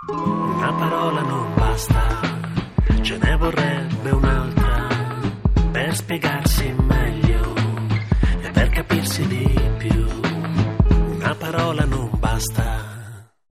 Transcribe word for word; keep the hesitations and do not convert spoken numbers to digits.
Una parola non basta, ce ne vorrebbe un'altra per spiegarsi meglio e per capirsi di più. Una parola non basta,